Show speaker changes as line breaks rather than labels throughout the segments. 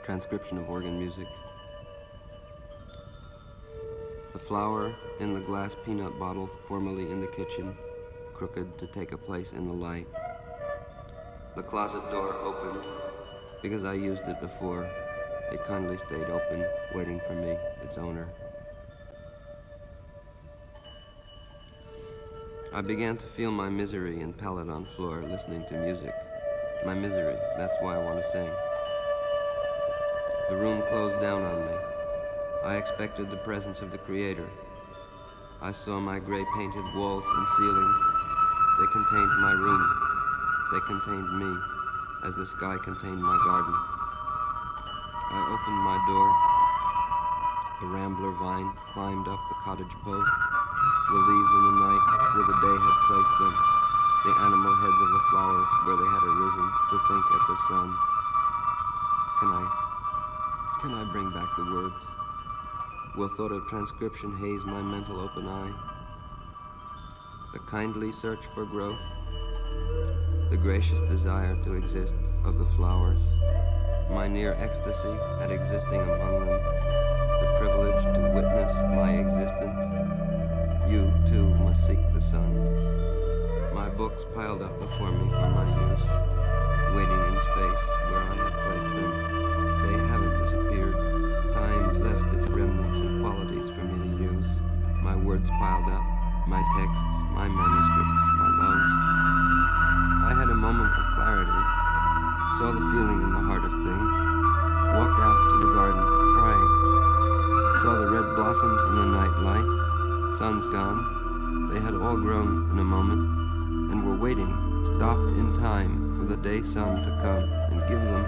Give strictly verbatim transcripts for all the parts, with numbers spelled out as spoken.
Transcription of organ music. The flower in the glass peanut bottle, formerly in the kitchen, crooked to take a place in the light. The closet door opened because I used it before. It kindly stayed open, waiting for me, its owner. I began to feel my misery in Paladon floor, listening to music. My misery, that's why I want to sing. The room closed down on me. I expected the presence of the Creator. I saw my gray painted walls and ceilings. They contained my room. They contained me, as the sky contained my garden. I opened my door. The rambler vine climbed up the cottage post. The leaves in the night where the day had placed them. The animal heads of the flowers where they had arisen to think at the sun. Can I, can I bring back the words? Will thought of transcription haze my mental open eye? The kindly search for growth, the gracious desire to exist of the flowers, my near ecstasy at existing among them, the privilege to witness my existence. You, too, must seek the sun. My books piled up before me for my use, waiting in space where I had placed them. They haven't disappeared. Time's left its remnants and qualities for me to use. My words piled up, my texts, my manuscripts, my loves. I had a moment of clarity, saw the feeling in the heart of things, walked out to the garden, crying, saw the red blossoms in the night light. Sun's gone. They had all grown in a moment and were waiting, stopped in time for the day sun to come and give them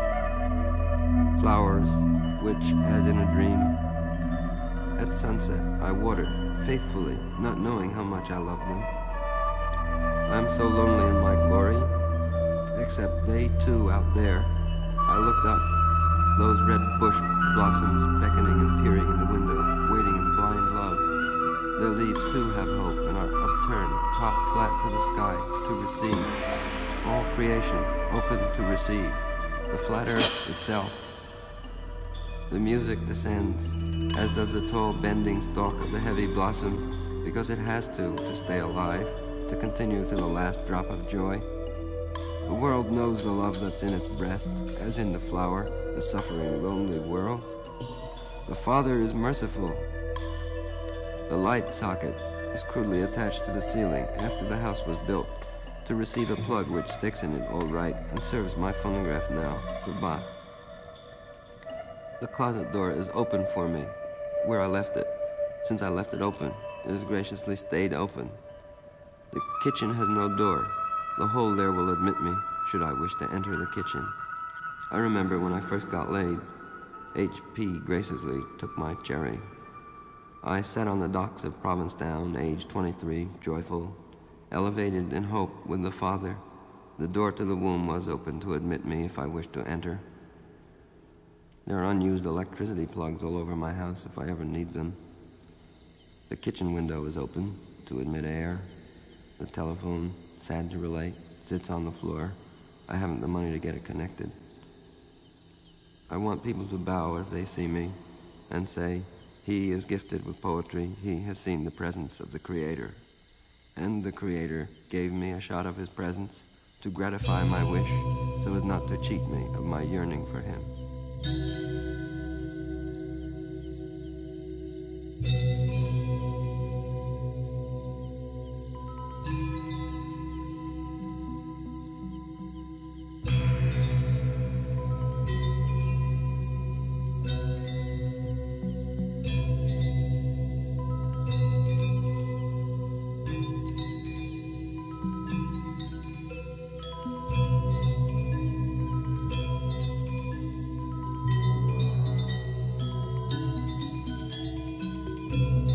flowers which, as in a dream, at sunset I watered faithfully, not knowing how much I loved them. I'm so lonely in my glory, except they too out there. I looked up, those red bush blossoms beckoning and peering in the window, waiting in blind love. Their leaves too have hope and are upturned, top flat to the sky, to receive. All creation open to receive. The flat earth itself. The music descends, as does the tall bending stalk of the heavy blossom, because it has to, to stay alive, to continue to the last drop of joy. The world knows the love that's in its breast, as in the flower, the suffering, lonely world. The Father is merciful. The light socket is crudely attached to the ceiling after the house was built to receive a plug which sticks in it all right and serves my phonograph now for Bach. The closet door is open for me, where I left it. Since I left it open, it has graciously stayed open. The kitchen has no door. The hole there will admit me, should I wish to enter the kitchen. I remember when I first got laid, H P graciously took my cherry. I sat on the docks of Provincetown, age twenty-three, joyful, elevated in hope with the Father. The door to the womb was open to admit me if I wished to enter. There are unused electricity plugs all over my house if I ever need them. The kitchen window is open to admit air. The telephone, sad to relate, sits on the floor. I haven't the money to get it connected. I want people to bow as they see me and say, he is gifted with poetry. He has seen the presence of the Creator. And the Creator gave me a shot of his presence to gratify my wish so as not to cheat me of my yearning for him.
Thank you.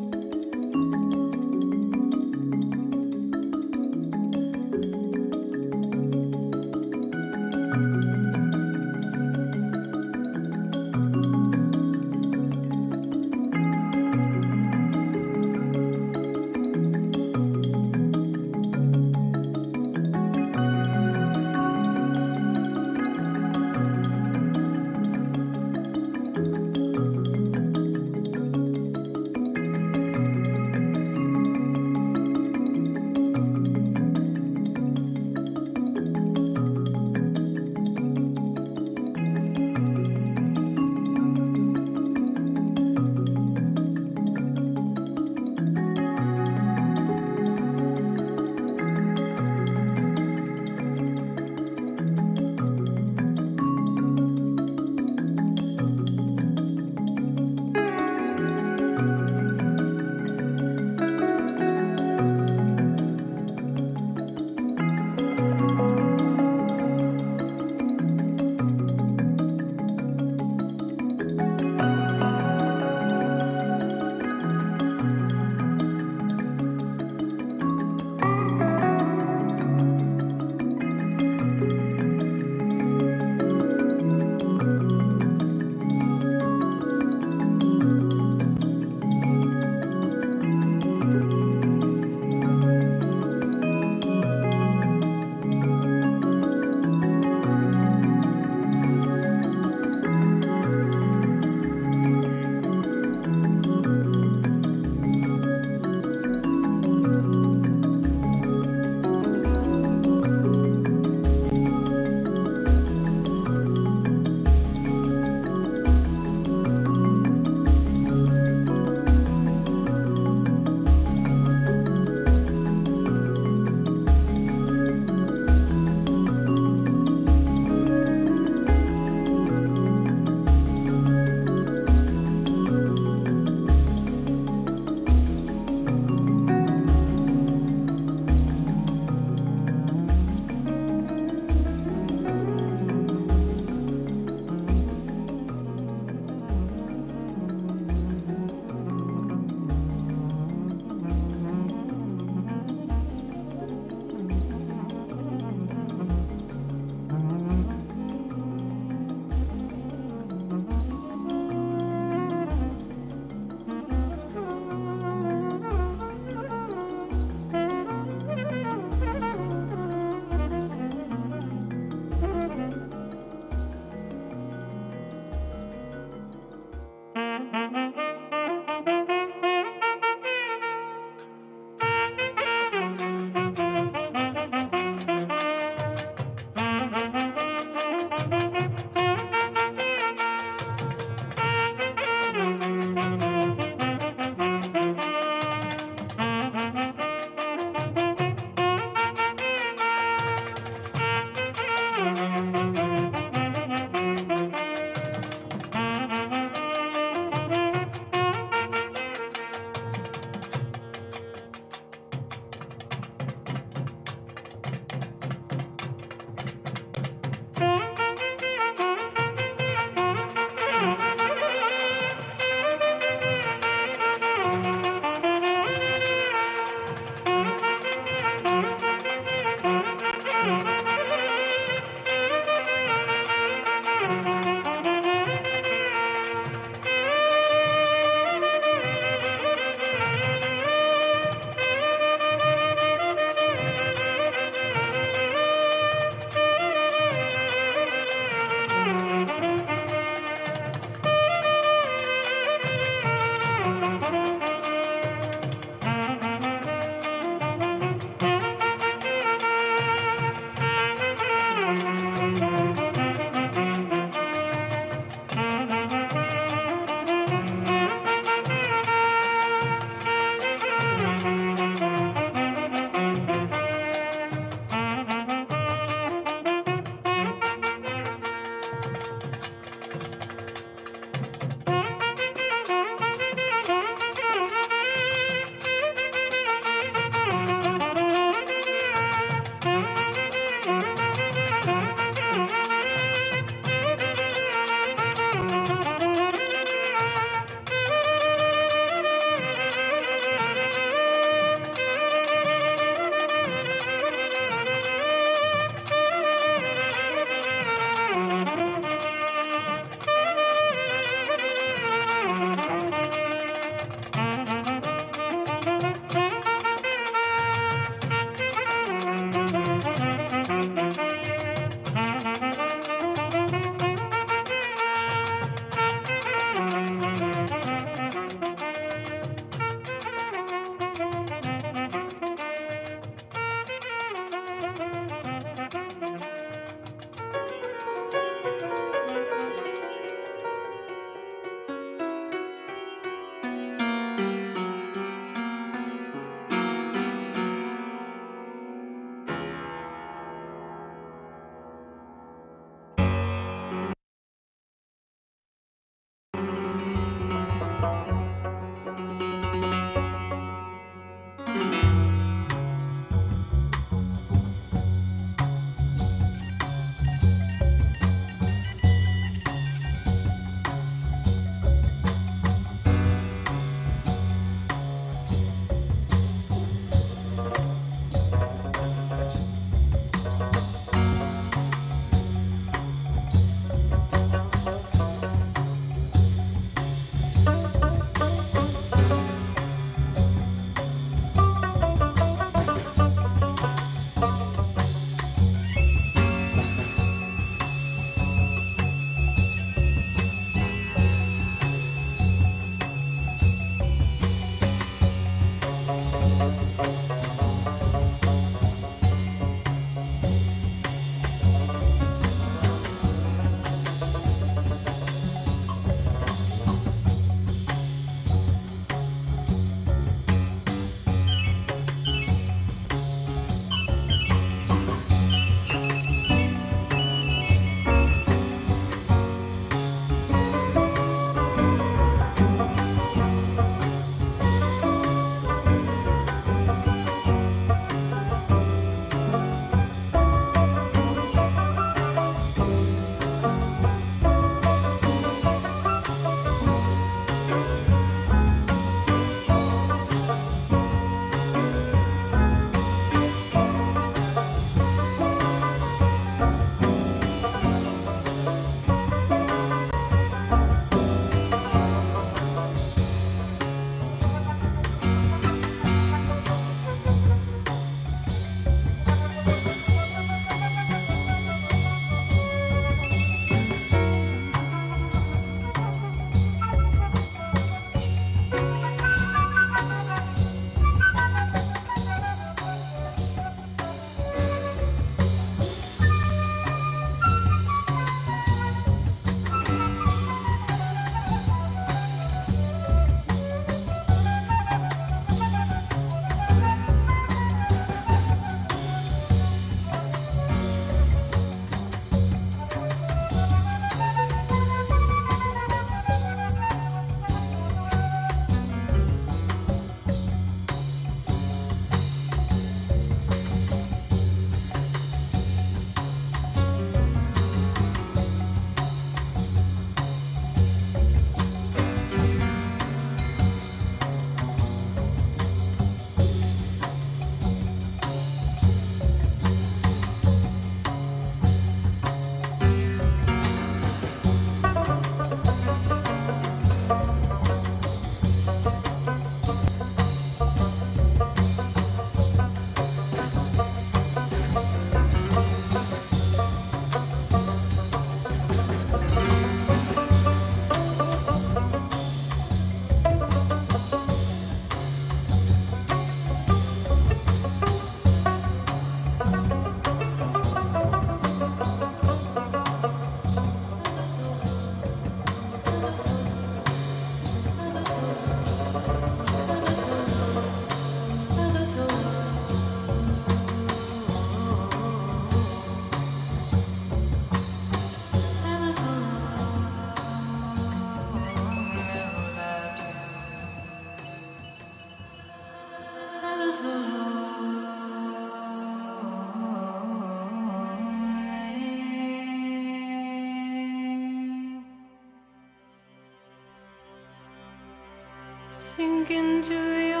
Sink into your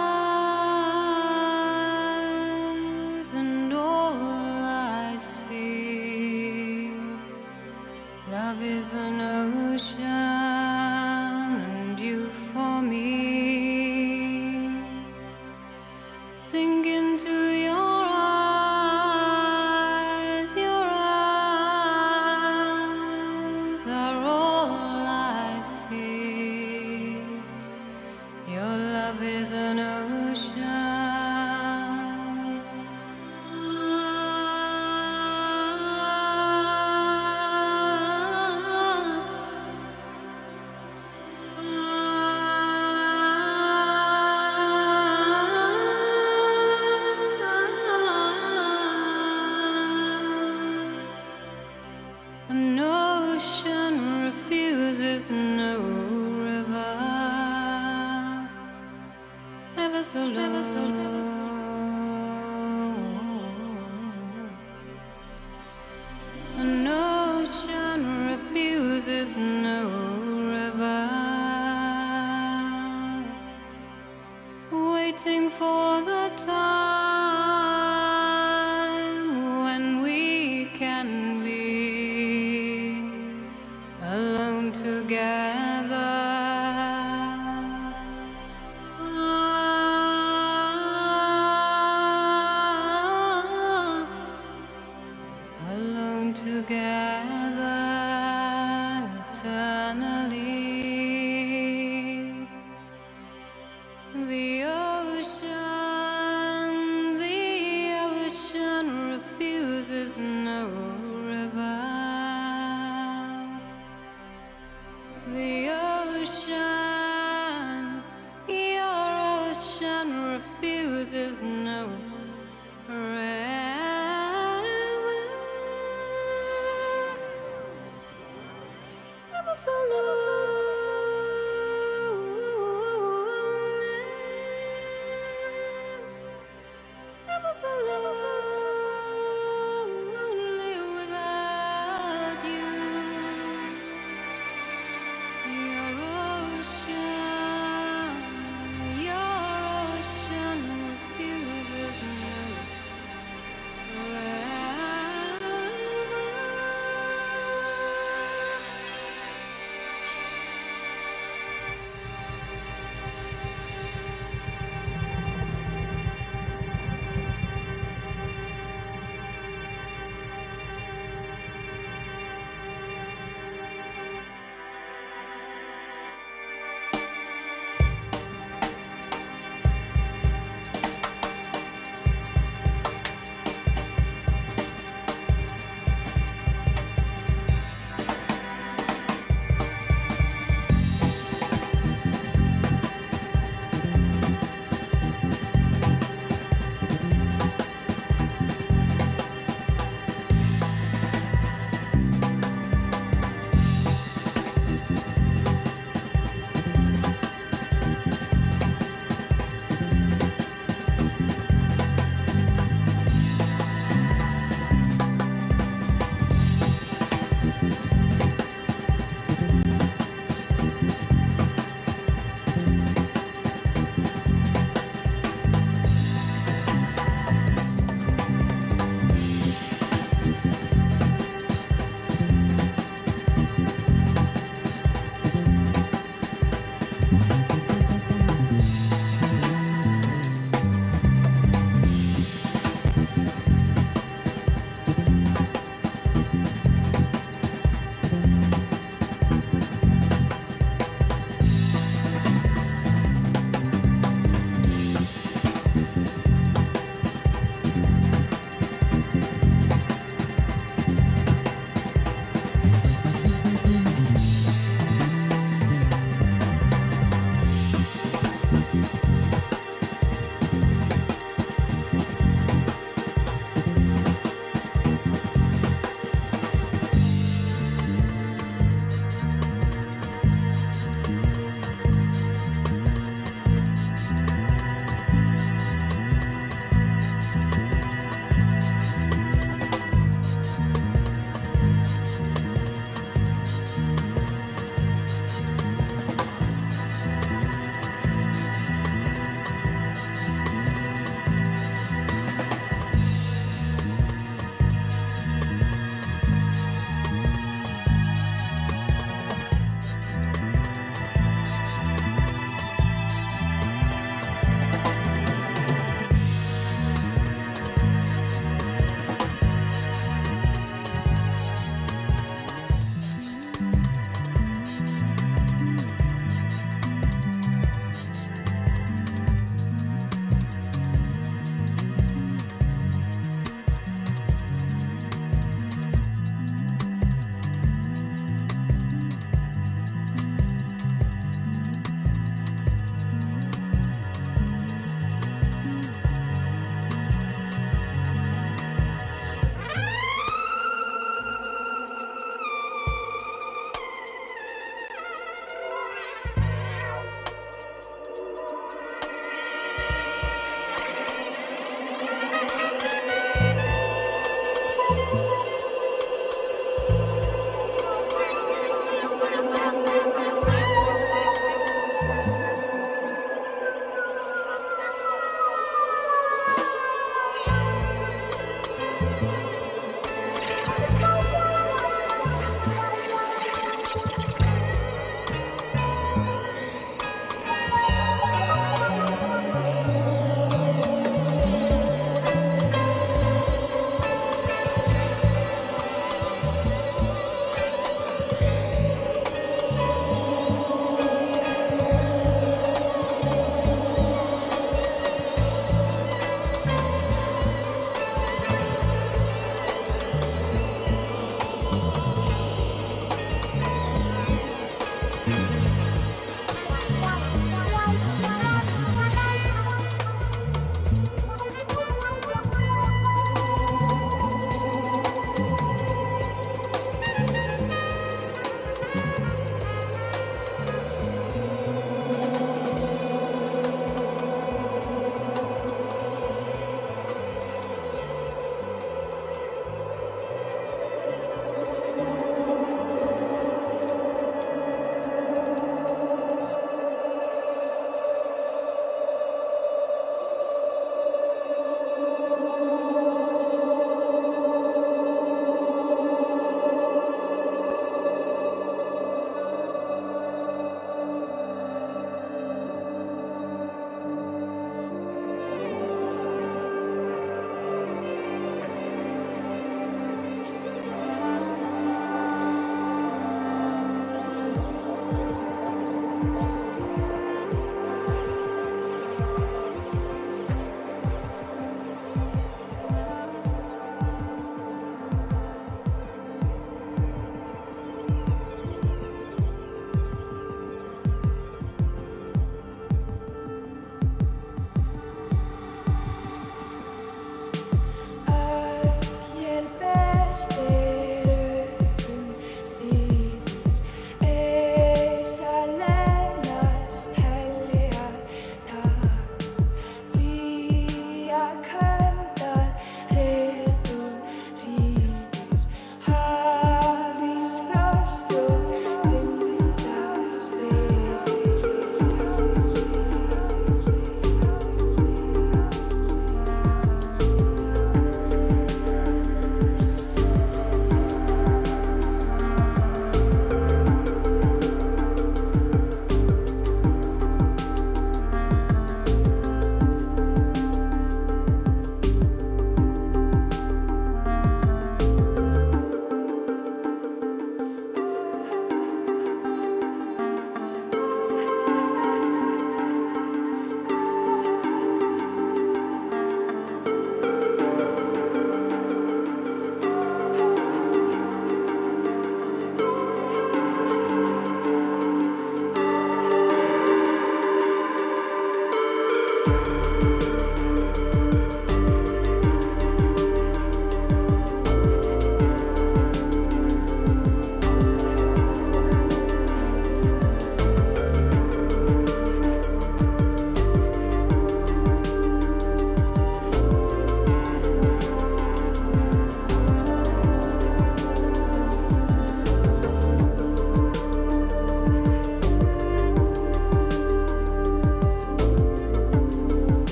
eyes, and all I see, love is an ocean, and you for me. Sink into your eyes, your eyes are all I see. Your love is an ocean. An ocean refuses no river, ever so low. Ever so low. An ocean refuses no river, waiting for the time when we can be alone together. Alone together eternally. The ocean, the ocean refuses no river. The ocean, your ocean refuses no river. Ever so lonely, ever so lonely without you. Your ocean, your ocean refuses no river.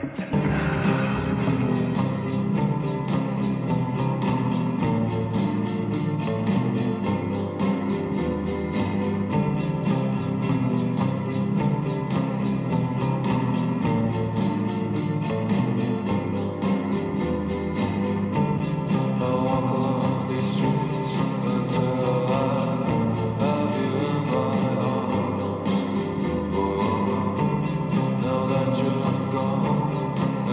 Now that you're gone,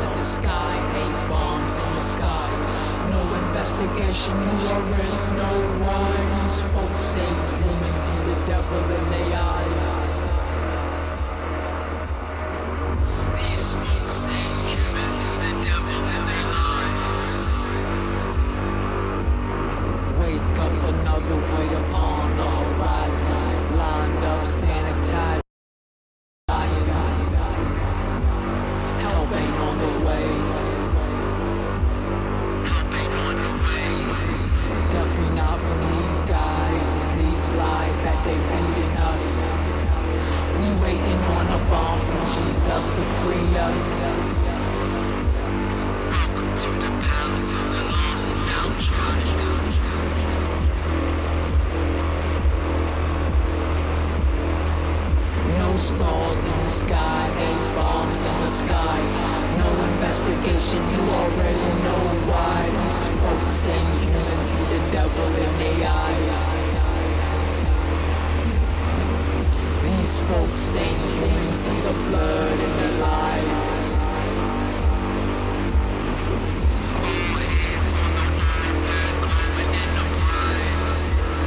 in the sky, eight bombs in the sky. No investigation, you already know why. These folks say humans see the devil in their eyes. These folks say humans see the devil in their lives. Wake up another way upon the horizon. Lined up, sanitized. Help ain't on the way. Help ain't on the way. Definitely not from these guys and these lies that they feeding us. We waiting on a bomb from Jesus to free us. Welcome to the palace of the lost and downtrodden. No stars in the sky, eight bombs in the sky. No investigation, you already know why. These folks say humans see the devil in their eyes. These folks say humans see the blood in their lives. All hands on the hardware, glowing in the prize.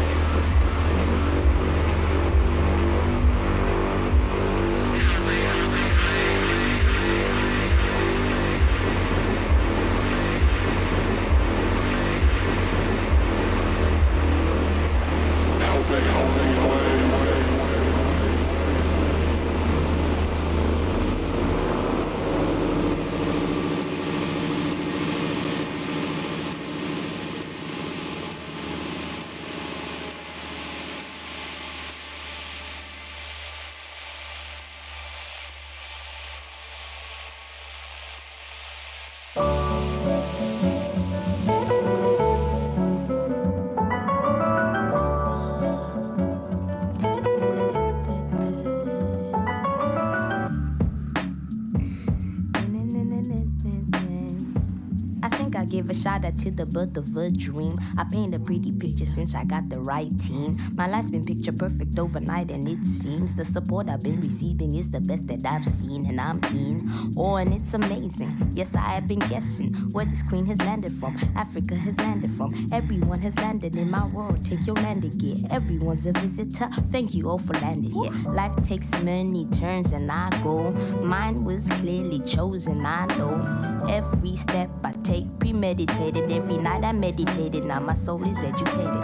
Give a shout out to the birth of a dream. I paint a pretty picture since I got the right team. My life's been picture perfect overnight, and it seems the support I've been receiving is the best that I've seen, and I'm in. Oh, and it's amazing. Yes, I have been guessing where this queen has landed from. Africa has landed from. Everyone has landed in my world. Take your land again. Everyone's a visitor. Thank you all for landing here. Life takes many turns, and I go. Mine was clearly chosen. I know every step I take premeditated. Every night I meditated. Now my soul is educated.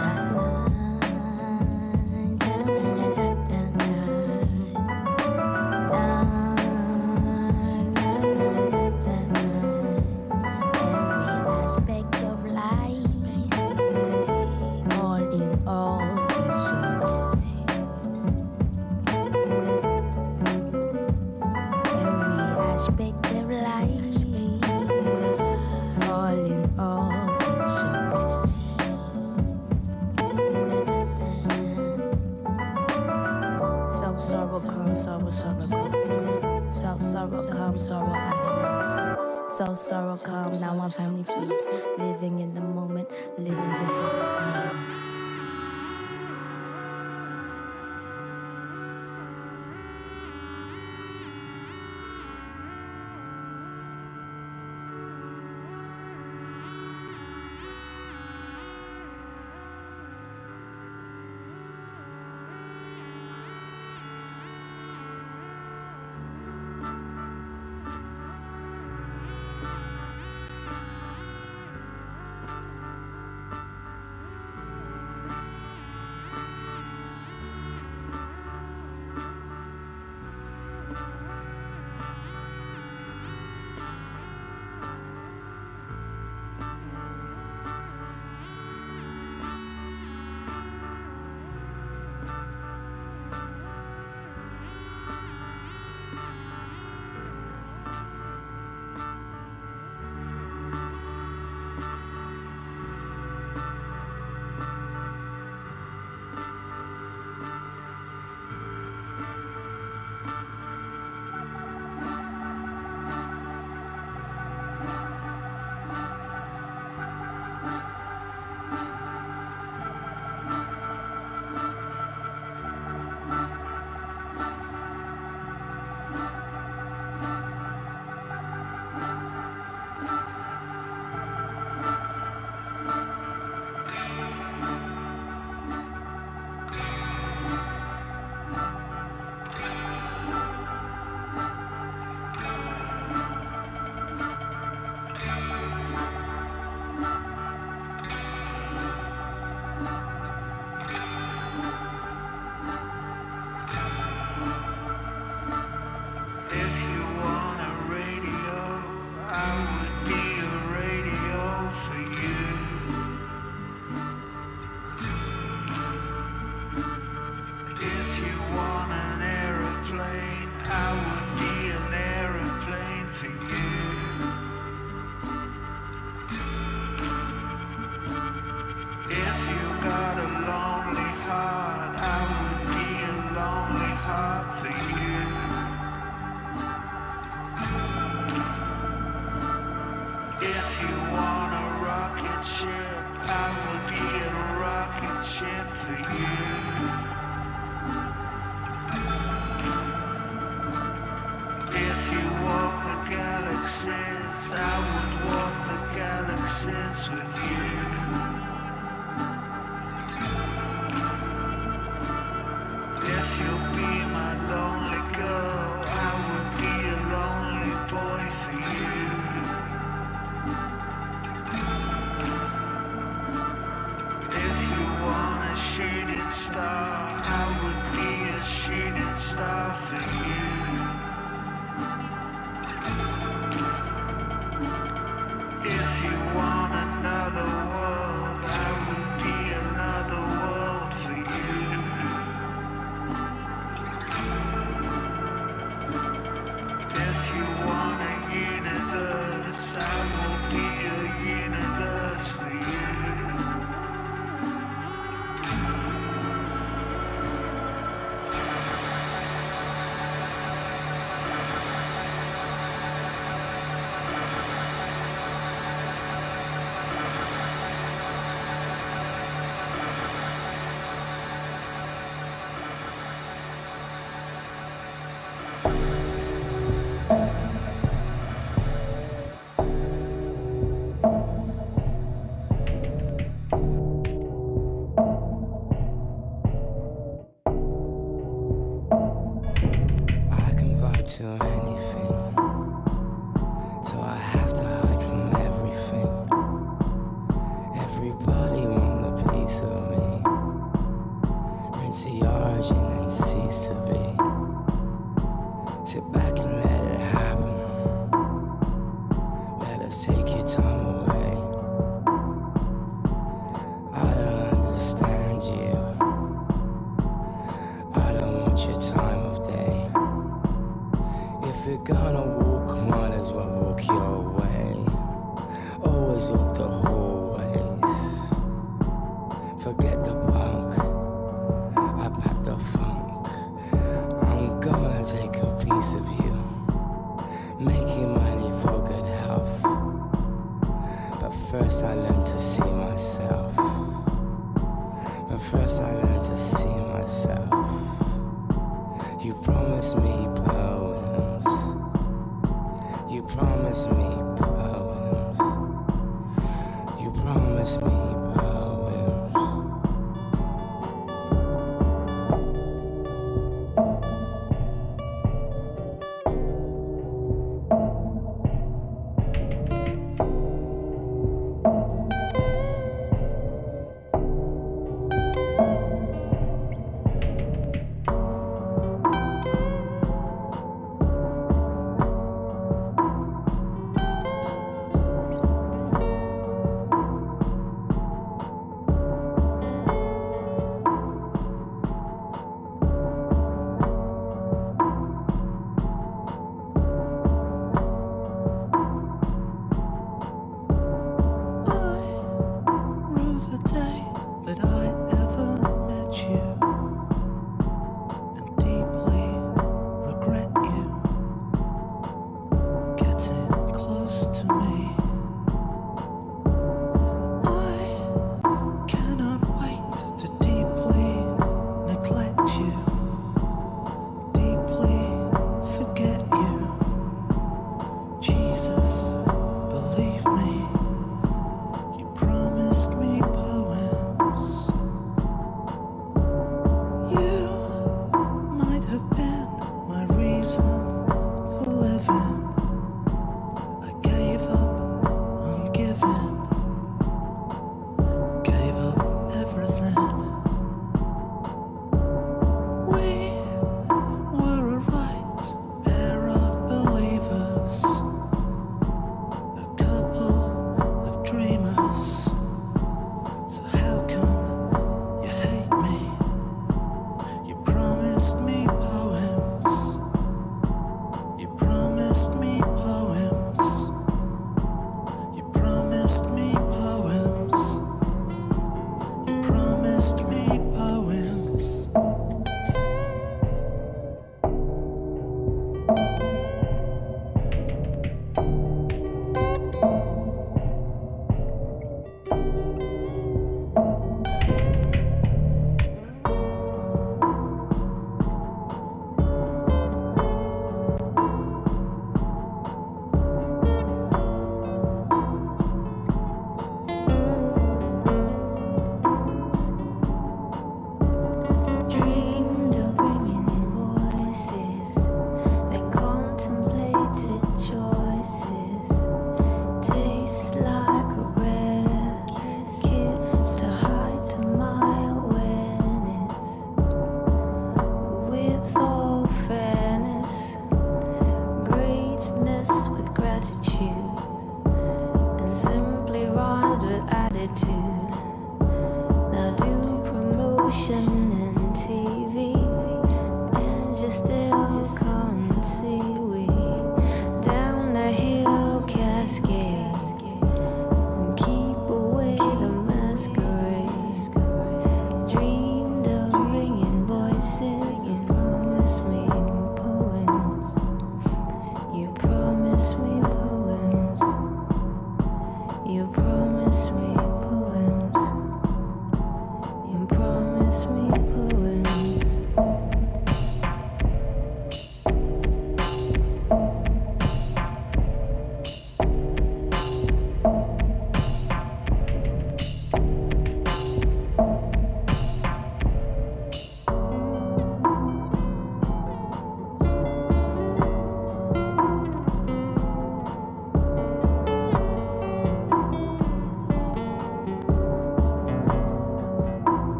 So sorrow calm, now I'm finally free. Living in the moment, living just like me.
To anything, so I have to hide from everything. Everybody want a piece of me. Rinse the origin and cease to be. Sit back and let it happen. Let us take your time away. I don't understand you. I don't want your time of day. If you're gonna walk, might as well walk your way. Always walk the hallways. Forget the punk, I pack the funk. I'm gonna take a piece of you, making money for good health. But first I learned to see myself. But first I learned to see myself. You promised me poems. You promised me poems. You promised me poems. Promised me